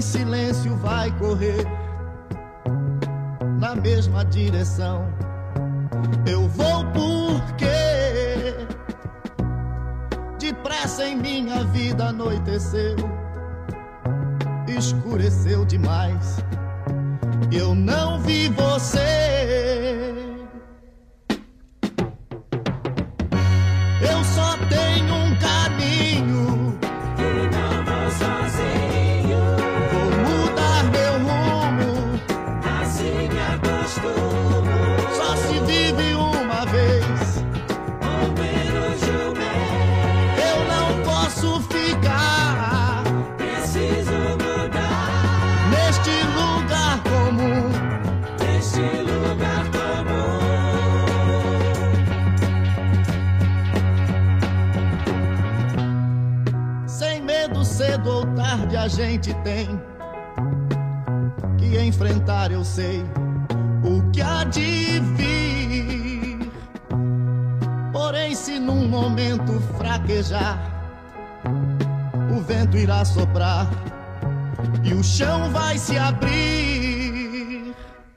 silêncio vai correr na mesma direção. Eu vou porque depressa em minha vida anoiteceu, escureceu demais, eu não vi você. Eu só tenho um caminho e não vou sozinho. Vou mudar meu rumo, assim me acostumo. só se vive uma vez, Ou menos de um mês. eu não posso ficar Preciso mudar neste lugar comum. deste lugar comum. Sem medo, cedo ou tarde a gente tem que enfrentar, eu sei o que há de vir. Porém, se num momento fraquejar, o vento irá soprar e o chão vai se abrir.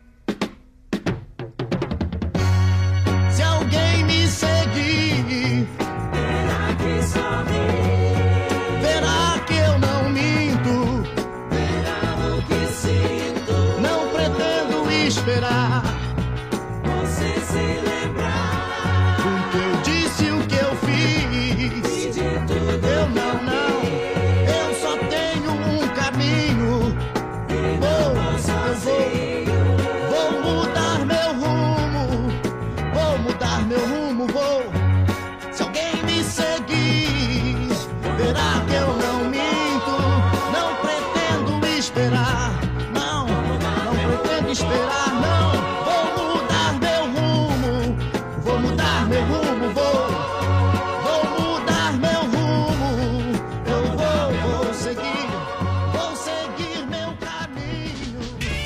Se alguém me seguir, Terá que sorrir. verá que eu não minto, Verá o que sinto. não pretendo esperar Você se lembrar o que eu disse, o que eu fiz. e de tudo Eu não, eu só tenho um caminho. e não vou sozinho. Vou mudar meu rumo, vou mudar meu rumo, vou. Se alguém me seguir, verá que eu não minto, não pretendo esperar, não pretendo esperar, não. Vou mudar meu rumo, vou mudar meu rumo, vou mudar meu rumo, eu vou seguir meu caminho.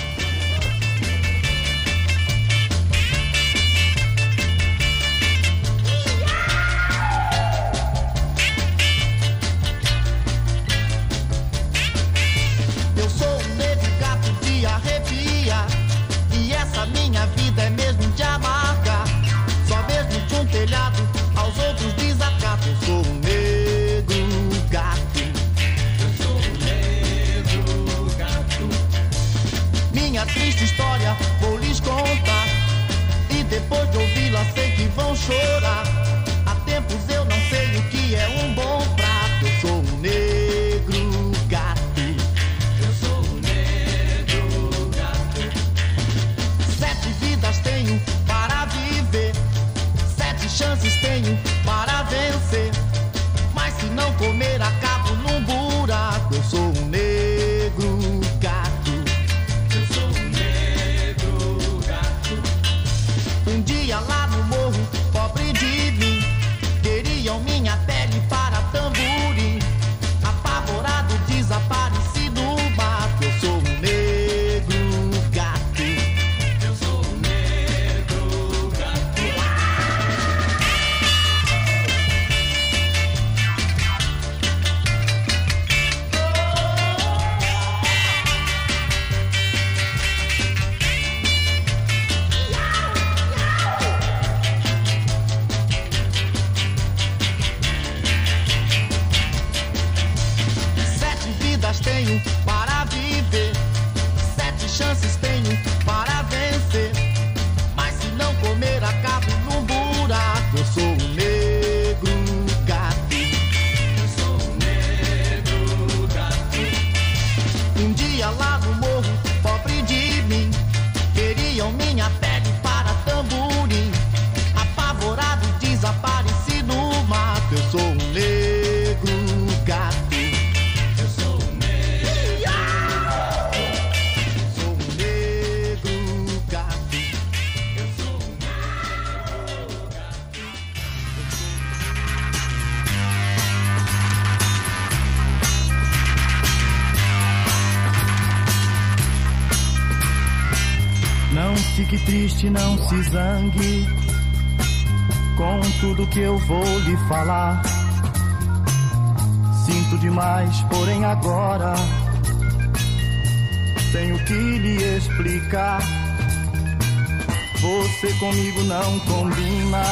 Eu sou um negro gato de arrepia, e essa minha vida é mesmo de amarga. Só mesmo de um telhado aos outros desacato. Eu sou um negro gato. Eu sou um negro gato. Minha triste história vou lhes contar, e depois de ouvi-la sei que vão chorar. Há tempos eu não sei o que é um bom prato. Eu sou um negro gato. Eu sou um negro gato. 7 vidas tenho para viver, 7 chances tenho para vencer. Mas se não comer, acabo num buraco. Eu sou um negro gato. Eu sou um negro gato. Um dia lá no morro, pobre de mim, queriam minha pele para tamborim. Apavorado, desapareci no mato. Eu sou um negro gato. Eu sou um negro gato. Sete vidas tenho para viver, 7 chances tenho para vencer. Mas se não comer, acabo num buraco. Eu sou um negro gato. Eu sou um negro gato. Um dia lá no morro, pobre de mim, queriam minha pele para tamborim. Apavorado, desapareci no mato. Eu sou um negro gato. Eu sou um negro. Sou um negro gato. Eu sou um negro gato. Não fique triste, não se zangue com tudo que eu vou lhe falar. Sinto demais, porém agora Tenho que lhe explicar. Você comigo não combina.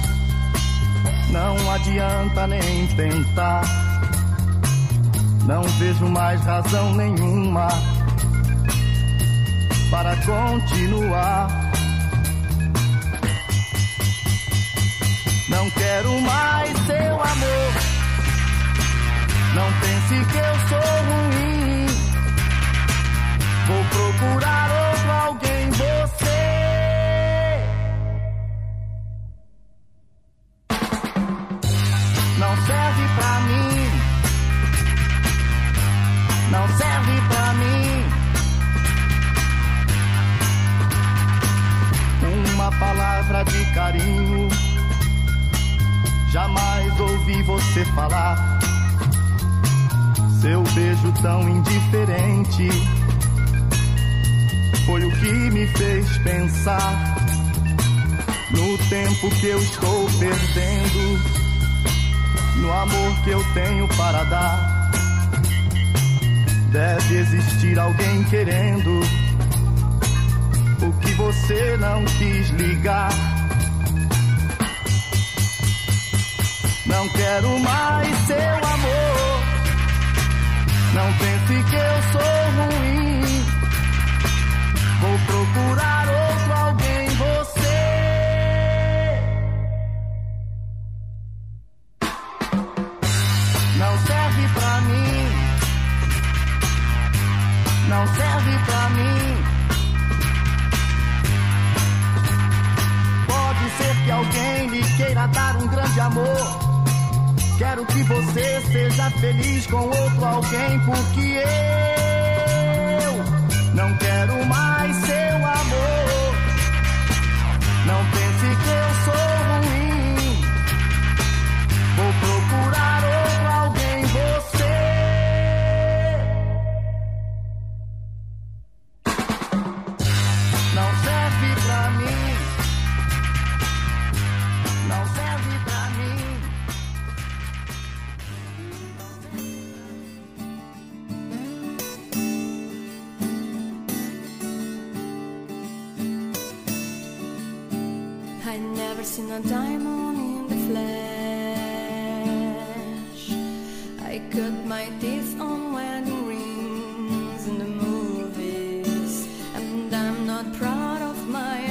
Não adianta nem tentar. Não vejo mais razão nenhuma para continuar. Não quero mais seu amor. Não pense que eu sou ruim. Vou procurar outro alguém, você. Não serve pra mim. Não serve pra mim. Uma palavra de carinho. Jamais ouvi você falar. Seu beijo tão indiferente foi o que me fez pensar no tempo que eu estou perdendo, no amor que eu tenho para dar. Deve existir alguém querendo o que você não quis ligar. Não quero mais seu amor. Não pense que eu sou ruim. Vou procurar outro alguém, você. Não serve pra mim. Não serve pra mim. Pode ser que alguém lhe queira dar um grande amor. Quero que você seja feliz com outro alguém, porque eu não quero mais seu amor. Não pense que eu sou ruim. Vou procurar outro alguém, você. Não serve pra mim. Não serve pra mim. I never seen a diamond in the flesh. I cut my teeth on wedding rings in the movies, and I'm not proud of my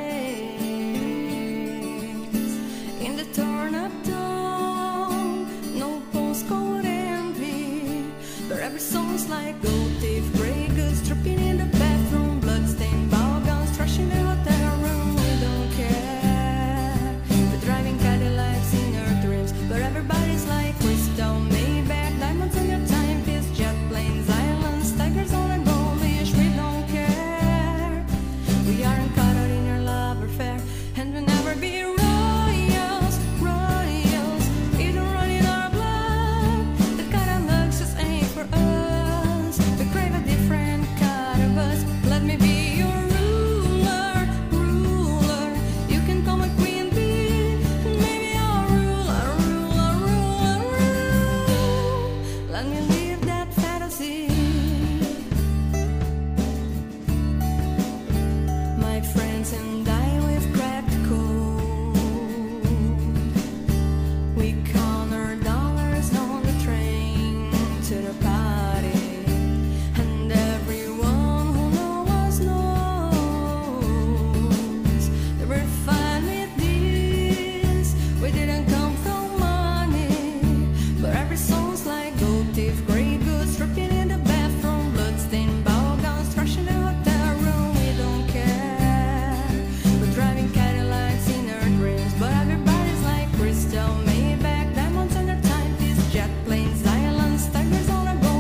dreams. In the torn up town, no postcode envy, but every song's like gold teeth, grey goods dripping in the bathroom, bloodstained ball gowns, trash in the hotel room. We don't care. Driving Cadillacs in our dreams, but everybody's like crystal, Maybach, diamonds on your timepiece, jet planes, islands, tigers on a gold leash. We don't care. We aren't caught out in your love affair, and we'll never be royals, royals. It don't run in our blood. The kind of looks just ain't for us. We crave a different kind of us. Let me be your ruler, ruler. You can call me queen. Let me live that fantasy. My friends and I, we've cracked the code. We count our dollars on the train to the party, and everyone who knows us knows that we're fine with this. We didn't come from money, but every song's like gold. Grey goods dripping in the bathroom, bloodstained ball gowns, trash in the hotel room. We don't care. We're driving Cadillacs in our dreams, but everybody's like crystal, Maybach, diamonds on their timepiece, jet planes, islands, tigers on a gold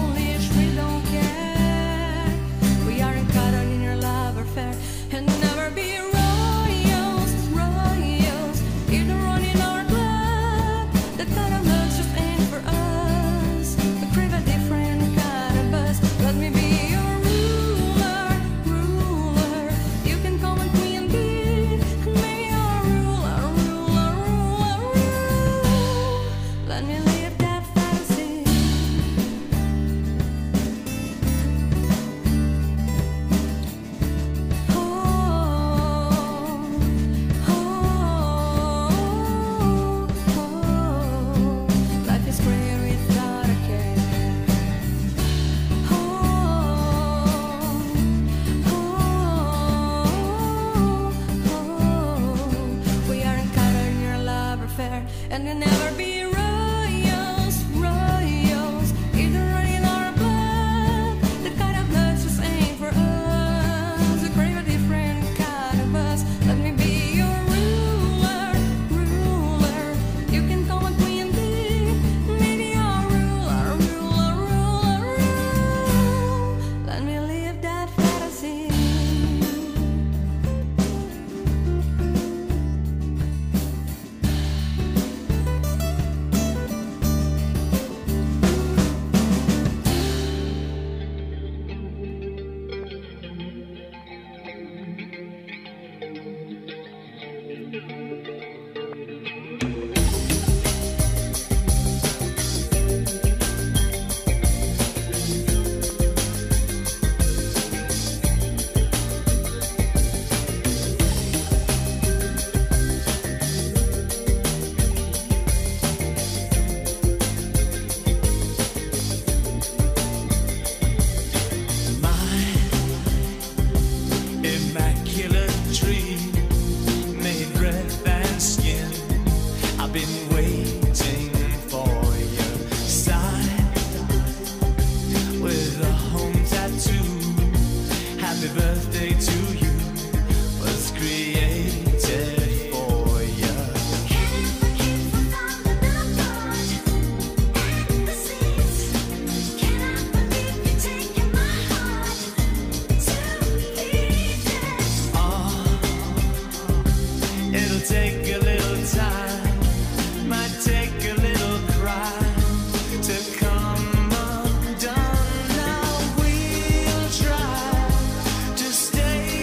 Happy birthday to you was created for you. It'll take a little time, might take a little cry to come undone. Now we'll try to stay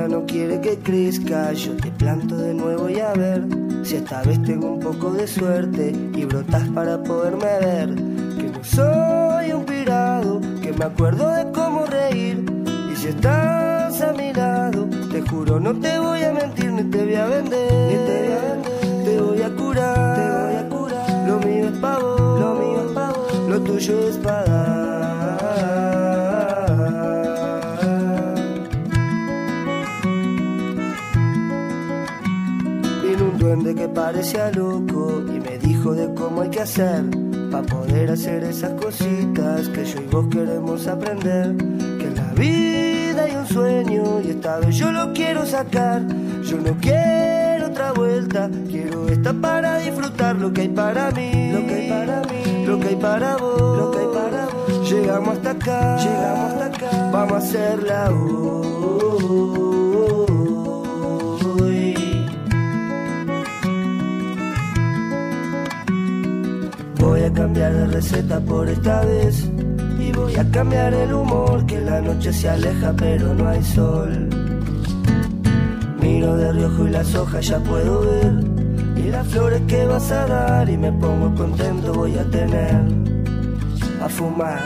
no quiere que crezca. Yo te planto de nuevo y a ver si esta vez tengo un poco de suerte y brotas para poderme ver. Que no soy un pirado, que me acuerdo de cómo reír. Y si estás a mi lado, te juro no te voy a mentir ni te voy a vender. Te voy a curar, lo mío es pa' vos, lo tuyo es pa' dar. Duende que parecía loco y me dijo de cómo hay que hacer para poder hacer esas cositas que yo y vos queremos aprender. Que en la vida hay un sueño y esta vez yo lo quiero sacar. Yo no quiero otra vuelta, quiero esta para disfrutar lo que hay para mí, lo que hay para mí, lo que hay para vos, lo que hay para vos. Llegamos hasta acá, vamos a hacerla hoy. Voy a cambiar de receta por esta vez y voy a cambiar el humor, que la noche se aleja pero no hay sol. Miro de reojo y las hojas ya puedo ver y las flores que vas a dar y me pongo contento, voy a tener a fumar.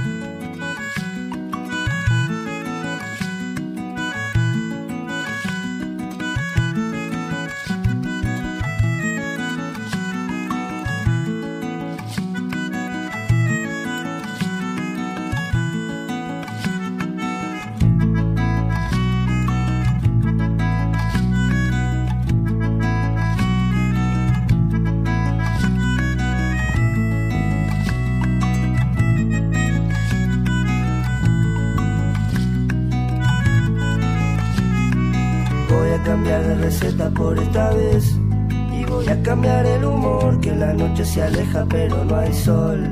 Cambiar de receta por esta vez y voy a cambiar el humor, que la noche se aleja pero no hay sol.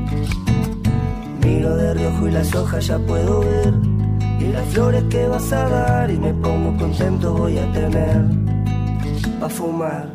Miro de reojo y las hojas ya puedo ver y las flores que vas a dar y me pongo contento, voy a tener pa' fumar.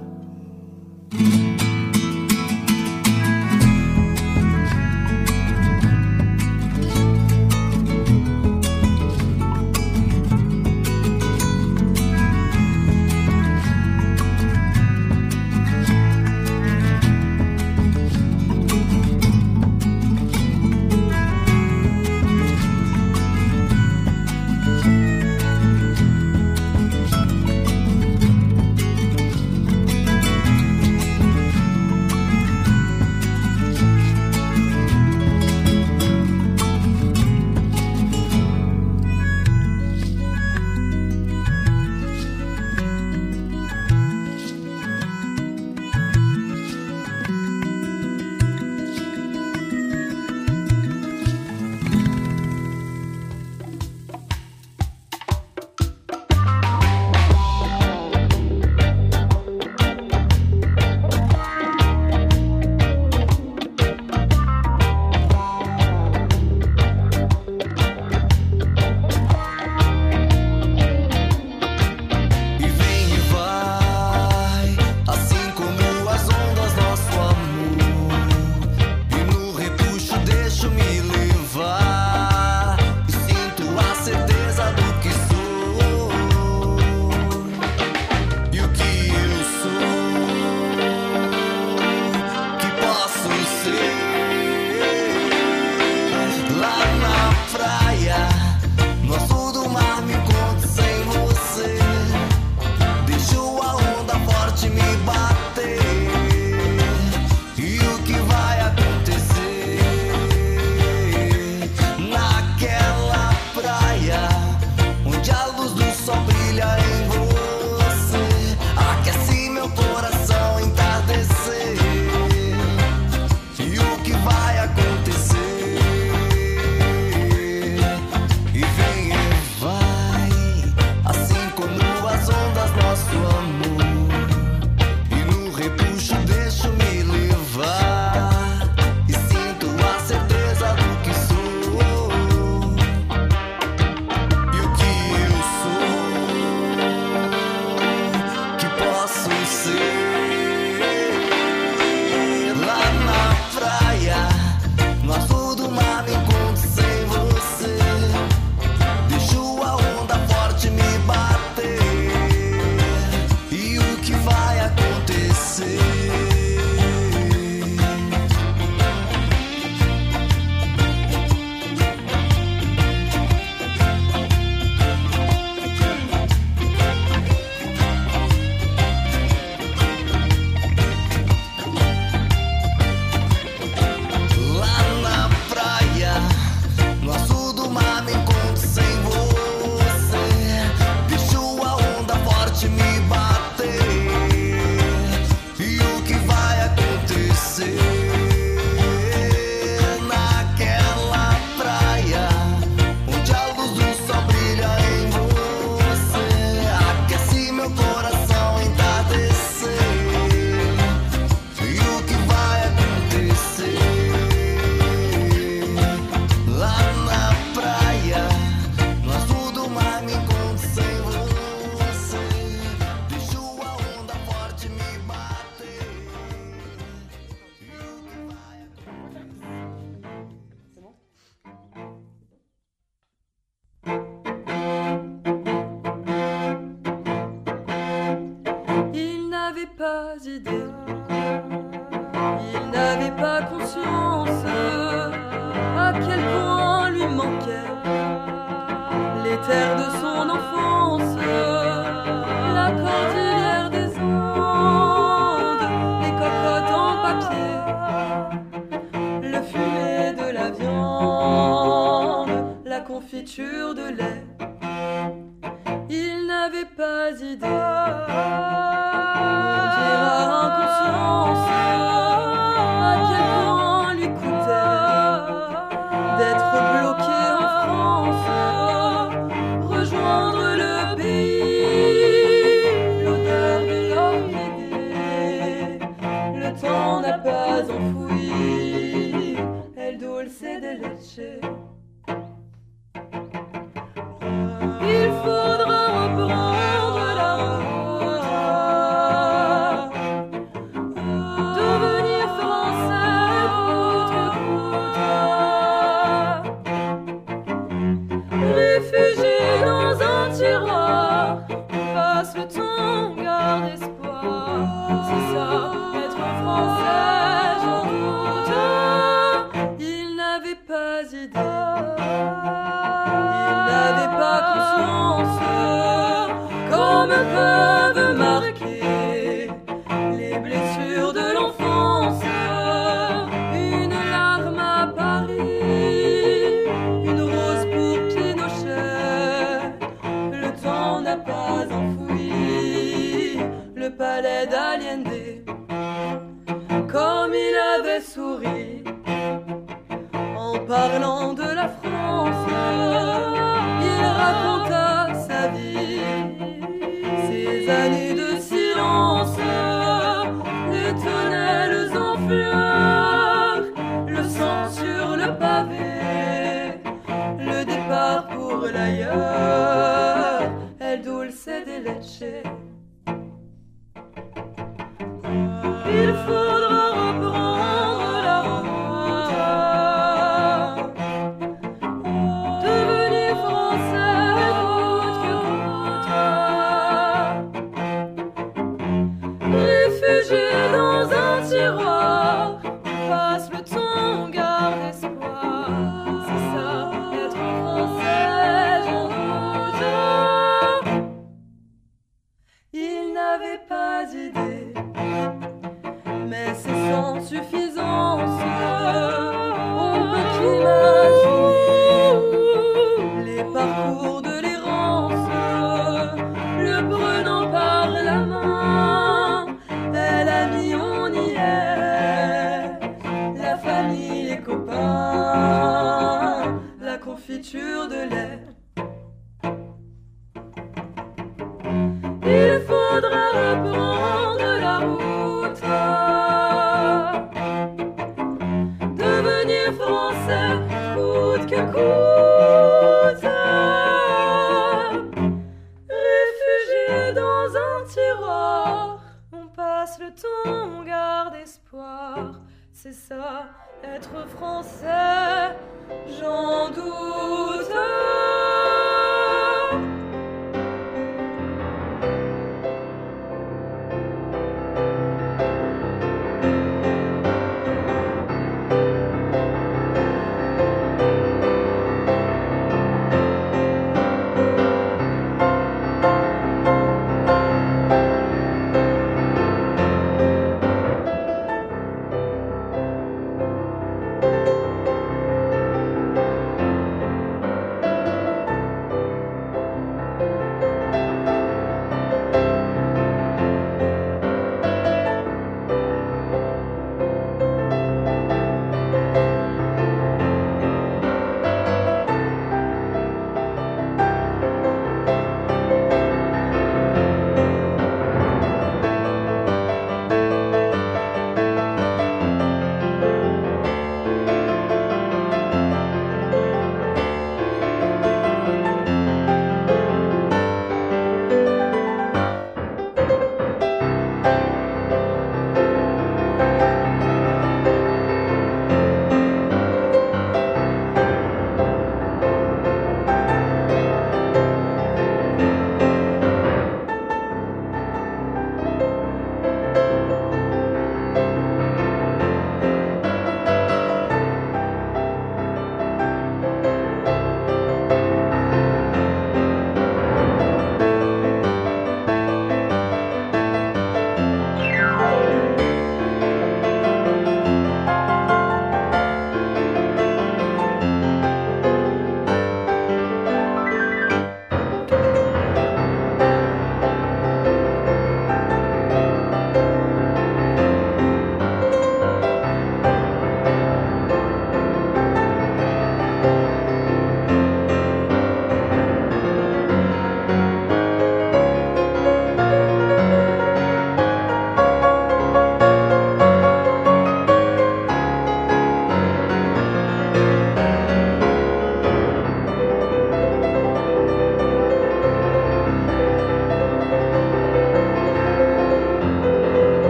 pas conscience à quel point lui manquait les terres de son enfance, la cordillère des Andes, les cocottes en papier, le fumet de la viande, la confiture de lait. Il n'avait pas idée, on dira inconscience, à quel point lui coûtait d'être bloqué en France, rejoindre le pays, l'odeur de l'orchidée. Le temps n'a pas enfoui El dulce de leche. Il faudra reprendre la route, devenir français coûte que coûte, réfugié dans un tiroir, passe le temps, garde espoir, c'est ça, être français, j'en doute. Il n'avait pas idée, il n'avait pas conscience, comme peuvent marquer les blessures de l'enfance. Une larme à Paris, une rose pour Pinochet. Le temps n'a pas enfoui le palais d'Allende. Comme il avait souri en parlant de la France, il raconta sa vie, ses années de silence, les tonnelles en fleurs, le sang sur le pavé, le départ pour l'ailleurs, El dulce de leche. Il faudra reprendre la route, devenir français coûte que coûte, réfugié dans un tiroir, passe le temps, garde espoir, c'est ça, être français, j'en doute. Il n'avait pas d'idée, mais c'est sans suffisance. On peut qu'imaginer les parcours de l'errance, le prenant par la main, elle a mis on y est, la famille, les copains, la confiture de lait. Il faudra reprendre la route, devenir français coûte que coûte, réfugié dans un tiroir, on passe le temps, on garde espoir, c'est ça, être français, j'en doute.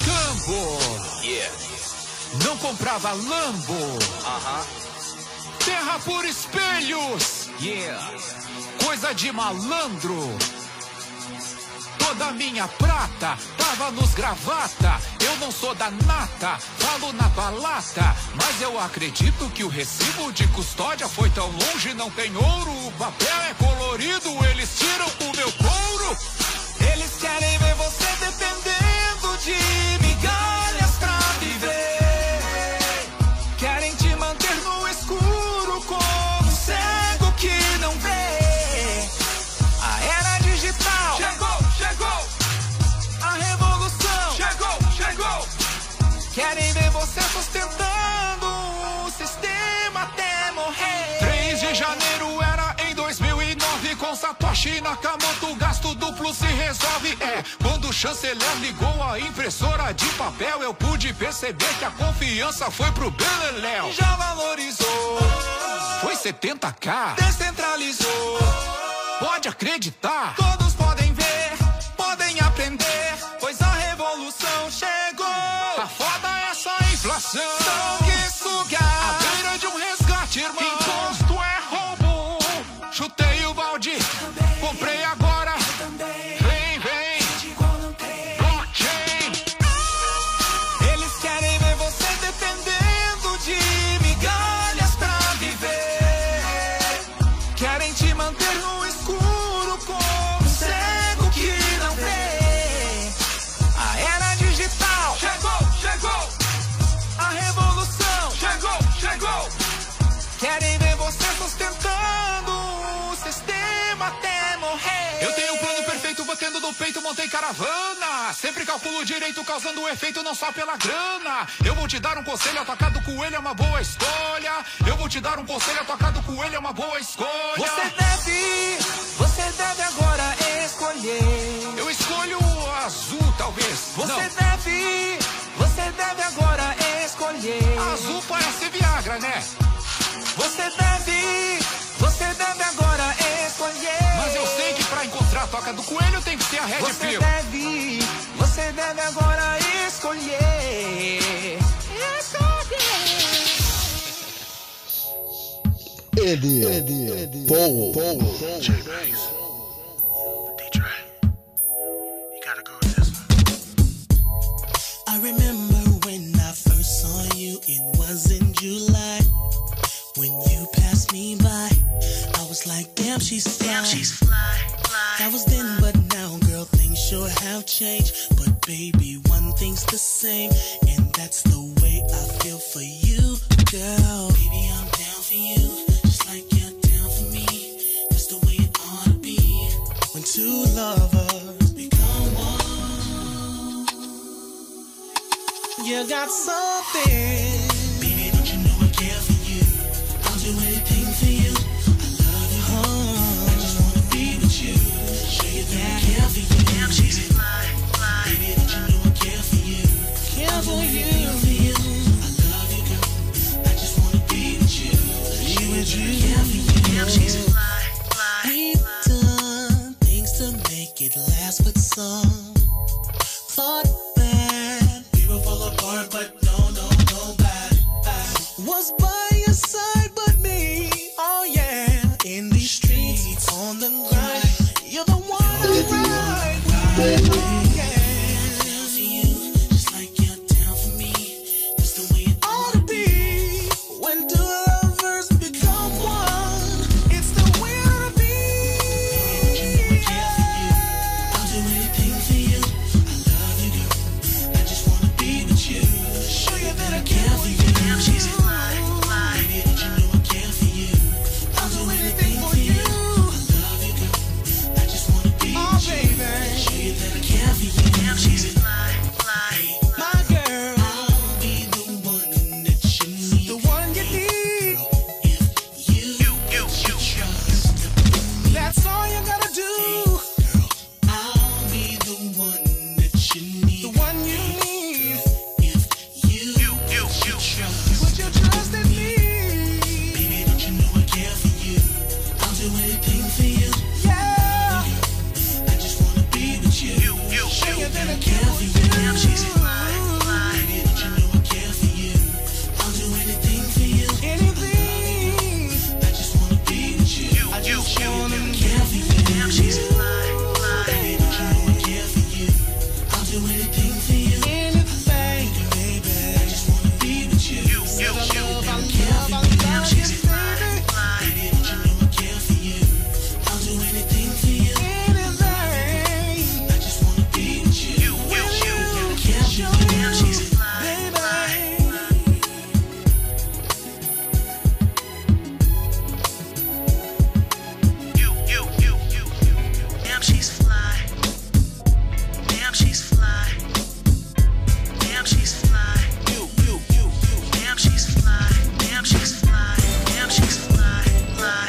escambo. Não comprava Lambo. Terra por espelhos. Coisa de malandro. Toda minha prata tava nos gravata. Eu não sou da nata, falo na balata. Mas eu acredito que o recibo de custódia foi tão longe, não tem ouro. O papel é colorido, eles tiram o meu couro. Eles querem ver você dependendo de migalhas pra viver. Querem te manter no escuro como um cego que não vê. A era digital chegou. A revolução chegou. Querem ver você sustentando o sistema até morrer. 3 de janeiro era em 2009. Com Satoshi Nakamoto o gasto duplo se resolve. Quando o chanceler ligou a impressora de papel, eu pude perceber que a confiança foi pro beleléu. Já valorizou, foi 70k, descentralizou. Pode acreditar, todos podem ver, podem aprender, pois a revolução chegou. A foda é só a inflação, sanguessuga, à beira de um resgate, irmão. Imposto é roubo, chutei o balde, comprei agora. Vem, blockchain. Eles querem ver você dependendo de migalhas pra viver. Querem te manter no escuro como um cego que não vê. A era digital chegou. A revolução chegou. Querem ver você sustentando o sistema até morrer. Eu tenho um plano perfeito, batendo no peito, montei caravana. Sempre calculo direito, causando efeito não só pela grana. Eu vou te dar um conselho, a toca do coelho é uma boa escolha. Eu vou te dar um conselho, a toca do coelho é uma boa escolha. Você deve agora escolher. Eu escolho o azul, talvez. Você deve agora escolher. Azul parece Viagra, né? Você deve agora escolher. Mas eu sei que pra encontrar a toca do coelho tem que ter a Red Pill. Você deve agora escolher. Ele. Paul. J-Banks. D-Dre. You gotta go with this one. I remember when I first saw you, it was in July. When you passed me by, I was like, damn, she's fly. That was then, but now, girl, things sure have changed. But baby, one thing's the same, and that's the way I feel for you, girl. Baby, I'm down for you, just like you're down for me. That's the way it ought to be. When two lovers become one, you got something. Baby, don't you know I care for you? I'll do anything for you. I love you. I just wanna be with you. Show you that I care for you. Damn, she's fly. Baby, don't you know I care for you? Care for you. I love you, girl. I just wanna be with you. Show you that I care for you. Damn, she's fly. We've done things to make it last, but some thought that we would fall apart, but no, Damn, she's fly. You. Damn, she's fly. Damn, she's fly. Damn, she's fly. Fly.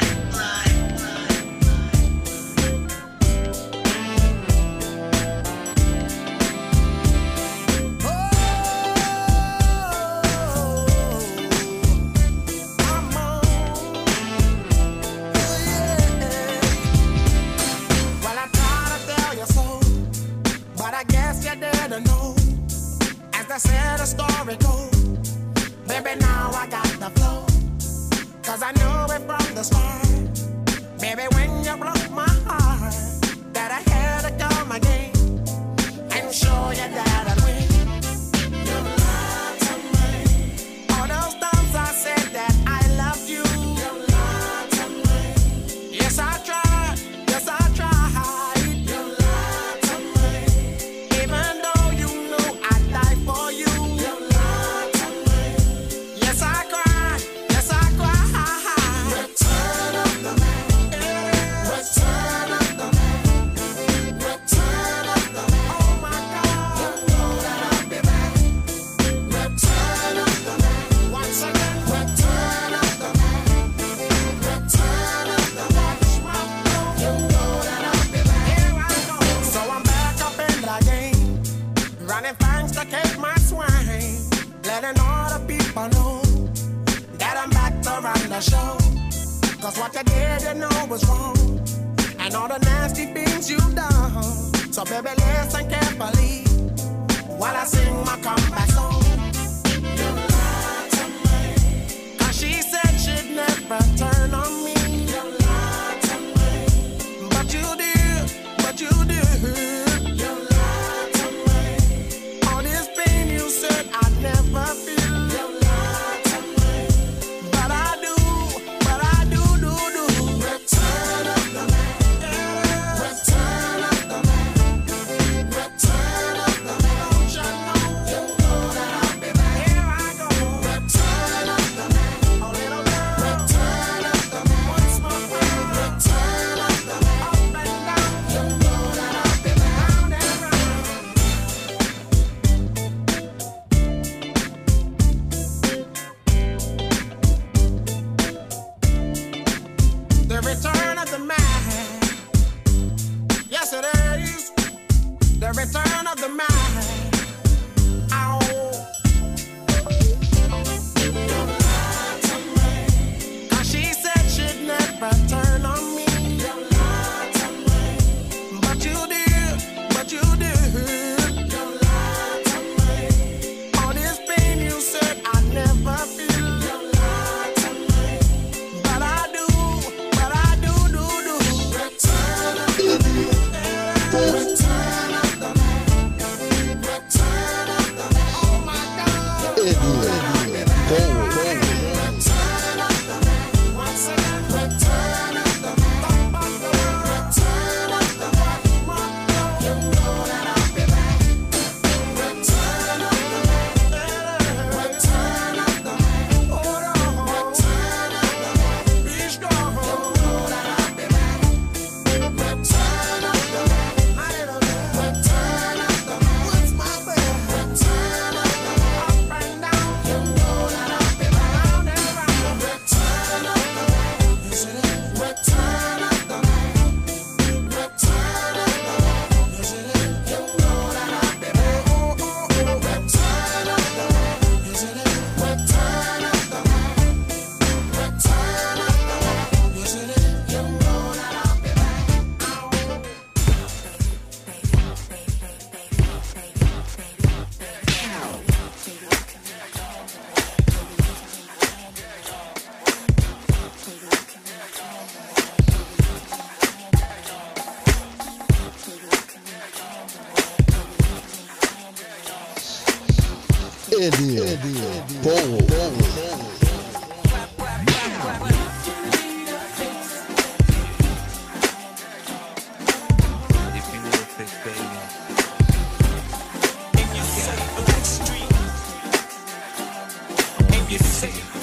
I said the story goes, baby, now I got the flow, cause I knew it from the start. Baby, when you broke my heart, that I had to come again and show you that I'd win. You lied to me. All those times I said that I loved you. You lied to me. Yes, I tried. Yes, I tried. You lied to me. Even though you knew I'd die for you. You lied to me. Yes, I cried. Yes, I cried. Return of the man. Return of the man. Return of the man. Oh my God. You know that I'll be back. Return of the man. Once again. Return of the man. Return of the man. You know that I'll be back. Here I go. So I'm back up in the game, running things to keep my swing, letting all the people know that I'm back to run the show. Cause what you did, you know was wrong, and all the nasty things you done. So baby, listen carefully while I sing my comeback song. You lied to me. Cause she said she'd never turn on me. You lied to me. But you did. You lied to me. All this pain you said I'd never feel. You lied to me. But I do. Return of the man. Return of the man. Return of the man. Don't you know? You know that I'll be back. Here I go. Return of the man. Oh, little girl. Return of the man. Once more. Return of the man. Up and down. You know that I'll be back. Round and round. The return of the man. Yes, it is. The return of the man. Ow. You lied to me. 'Cause she said she'd never turn on me. You lied to me. But you did. You lied to me. All this pain you said I'd never feel. You lied to me. But I do. Return of the man. Return of the man. Return of the man. Oh my God. Return of the man. Once again. Return of the man. Return of the man. You know that I'll be back. Return of the man. Return of the man. Hold on. Return of the man. Be strong. You know that I'll be back. Return of the man. I don't know. Return of the man. What's my bad? Return of the man. Up and down. You know that I'll be back. Round and round. Return of the man. Yes, it is. Return of the man. Return of the man. Yes, it is. You know that I'll be back. Return of the man. Yes, it is. Return of the man. Return of the man. Yes, it is. You know that I'll be back. If you say